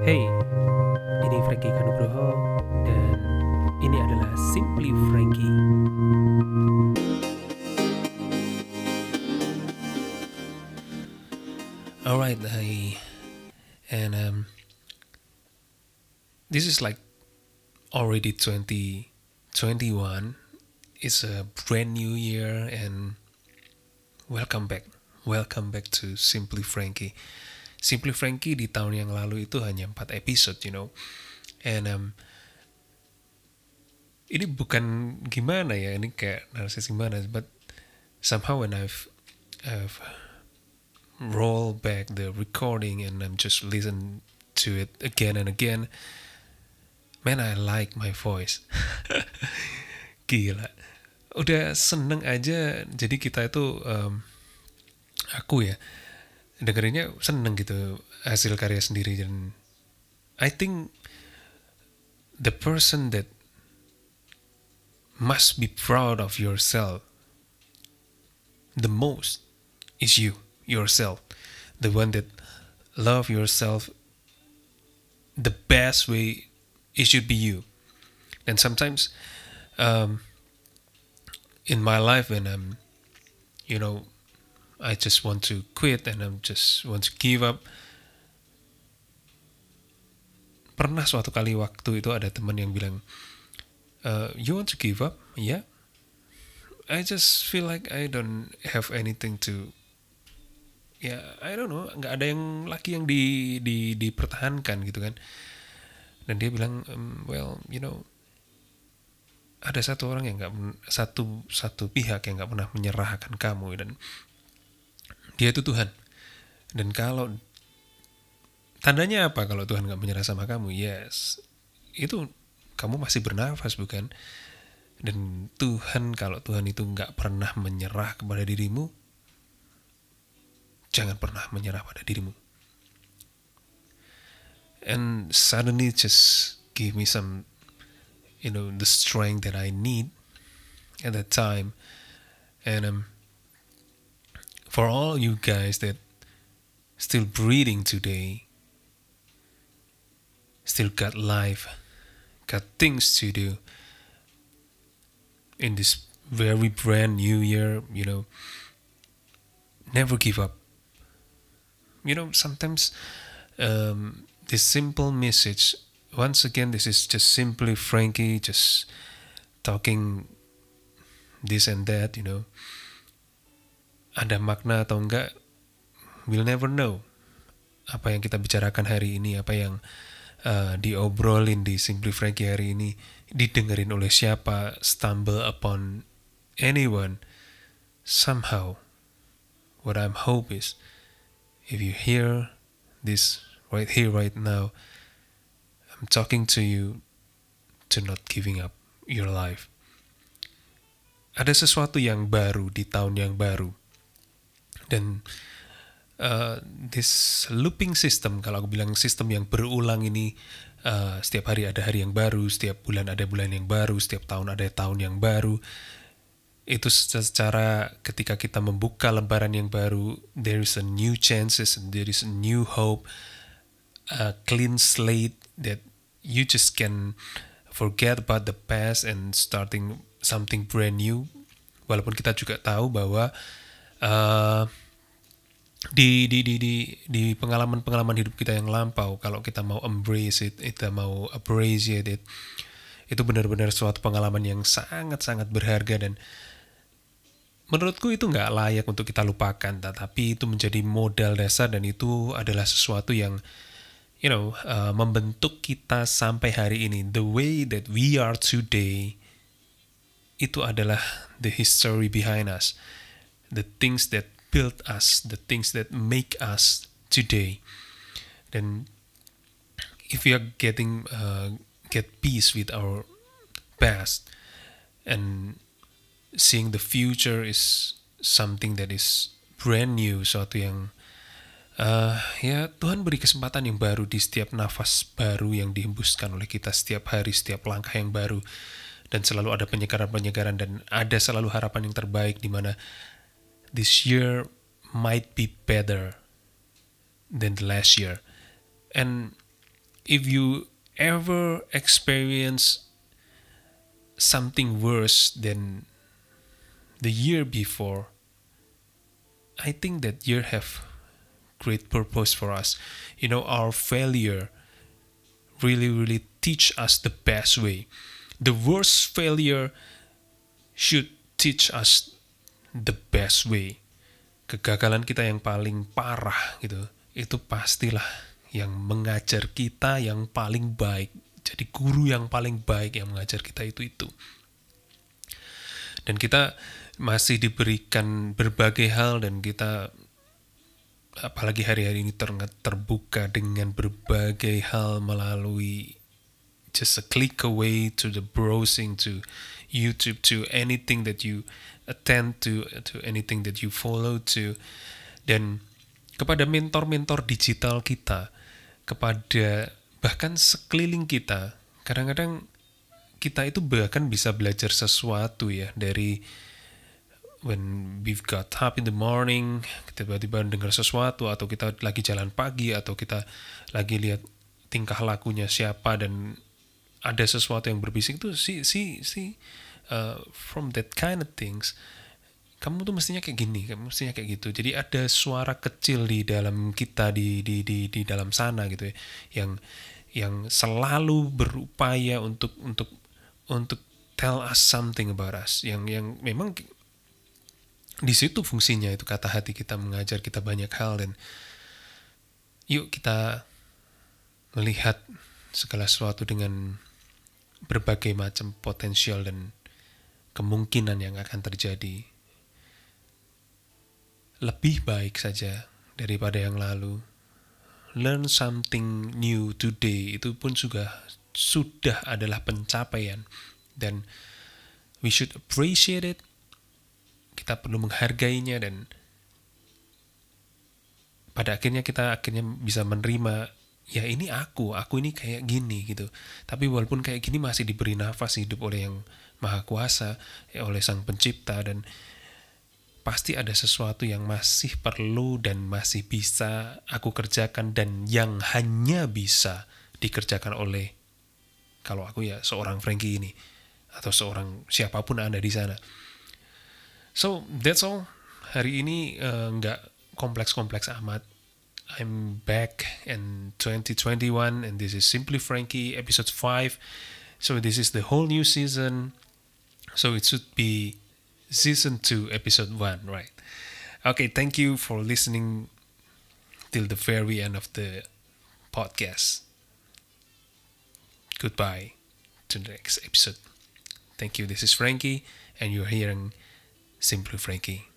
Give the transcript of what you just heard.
Hey, ini Frankie Kanugroho dan ini adalah Simply Frankie. Alright, and this is like already 2021. It's a brand new year and welcome back. Welcome back to Simply Frankie. Simply Frankie di tahun yang lalu itu hanya 4 episode, And ini bukan gimana ya, ini kayak narsis gimana, but somehow when I've roll back the recording and I'm just listen to it again and again, man, I like my voice. Gila, udah seneng aja. Jadi kita itu aku ya dengerinnya seneng gitu hasil karya sendiri. Dan I think the person that must be proud of yourself the most is yourself, the one that love yourself the best way. It should be you. And sometimes in my life when I'm I just want to quit and I'm just want to give up. Pernah suatu kali waktu itu ada teman yang bilang, you want to give up? Yeah, I just feel like I don't have anything to, I don't know, nggak ada yang lagi yang dipertahankan gitu kan. Dan dia bilang, ada satu orang yang satu pihak yang nggak pernah menyerahkan kamu, dan dia itu Tuhan. Dan kalau tandanya apa kalau Tuhan nggak menyerah sama kamu? Yes, itu kamu masih bernafas, bukan? Dan kalau Tuhan itu nggak pernah menyerah kepada dirimu, jangan pernah menyerah pada dirimu. And suddenly just give me some, the strength that I need at that time. And for all you guys that still breathing today, still got life, got things to do in this very brand new year, never give up. Sometimes this simple message, once again, this is just simply Frankie just talking this and that, ada makna atau enggak, we'll never know. Apa yang kita bicarakan hari ini, apa yang diobrolin di Simply Frankie hari ini, didengerin oleh siapa, stumble upon anyone, somehow, what I'm hope is, if you hear this right here, right now, I'm talking to you to not giving up your life. Ada sesuatu yang baru di tahun yang baru. Dan this looping system, kalau aku bilang sistem yang berulang ini, setiap hari ada hari yang baru, setiap bulan ada bulan yang baru, setiap tahun ada tahun yang baru. Itu secara ketika kita membuka lembaran yang baru, there is a new chances and there is a new hope, a clean slate that you just can forget about the past and starting something brand new. Walaupun kita juga tahu bahwa di pengalaman hidup kita yang lampau, kalau kita mau embrace it, kita mau appreciate it, itu benar-benar suatu pengalaman yang sangat-sangat berharga. Dan menurutku itu nggak layak untuk kita lupakan, tetapi itu menjadi modal dasar, dan itu adalah sesuatu yang membentuk kita sampai hari ini. The way that we are today, itu adalah the history behind us, the things that build us, the things that make us today. Dan if we are get peace with our past and seeing the future is something that is brand new, suatu yang Tuhan beri kesempatan yang baru di setiap nafas baru yang dihembuskan oleh kita setiap hari, setiap langkah yang baru, dan selalu ada penyegaran-penyegaran, dan ada selalu harapan yang terbaik, di mana this year might be better than the last year. And if you ever experience something worse than the year before, I think that year have great purpose for us. Our failure really teach us the best way. The worst failure should teach us the best way. Kegagalan kita yang paling parah gitu, itu pastilah yang mengajar kita yang paling baik. Jadi guru yang paling baik yang mengajar kita itu. Dan kita masih diberikan berbagai hal, dan kita apalagi hari-hari ini terbuka dengan berbagai hal melalui just a click away, to the browsing, to YouTube, to anything that you attend to anything that you follow to. Dan kepada mentor-mentor digital kita, kepada bahkan sekeliling kita, kadang-kadang kita itu bahkan bisa belajar sesuatu ya, dari when we've got up in the morning, kita tiba-tiba dengar sesuatu, atau kita lagi jalan pagi, atau kita lagi lihat tingkah lakunya siapa dan ada sesuatu yang berbisik tuh, from that kind of things, kamu tuh mestinya kayak gini, kamu mestinya kayak gitu. Jadi ada suara kecil di dalam kita, di dalam sana gitu ya, yang selalu berupaya untuk tell us something about us, yang memang di situ fungsinya, itu kata hati kita mengajar kita banyak hal. Dan yuk kita melihat segala sesuatu dengan berbagai macam potensial dan kemungkinan yang akan terjadi. Lebih baik saja daripada yang lalu. Learn something new today, itu pun sudah adalah pencapaian, dan we should appreciate it. Kita perlu menghargainya, dan pada akhirnya kita bisa menerima, ya ini aku ini kayak gini gitu. Tapi walaupun kayak gini masih diberi nafas hidup oleh yang Maha Kuasa, oleh Sang Pencipta, dan pasti ada sesuatu yang masih perlu dan masih bisa aku kerjakan, dan yang hanya bisa dikerjakan oleh, kalau aku ya seorang Frankie ini, atau seorang siapapun Anda di sana. So that's all. Hari ini nggak kompleks-kompleks amat. I'm back in 2021, and this is Simply Frankie episode 5. So this is the whole new season. So it should be season 2 episode 1, right? Okay, thank you for listening till the very end of the podcast. Goodbye to the next episode. Thank you. This is Frankie, and you're hearing Simply Frankie.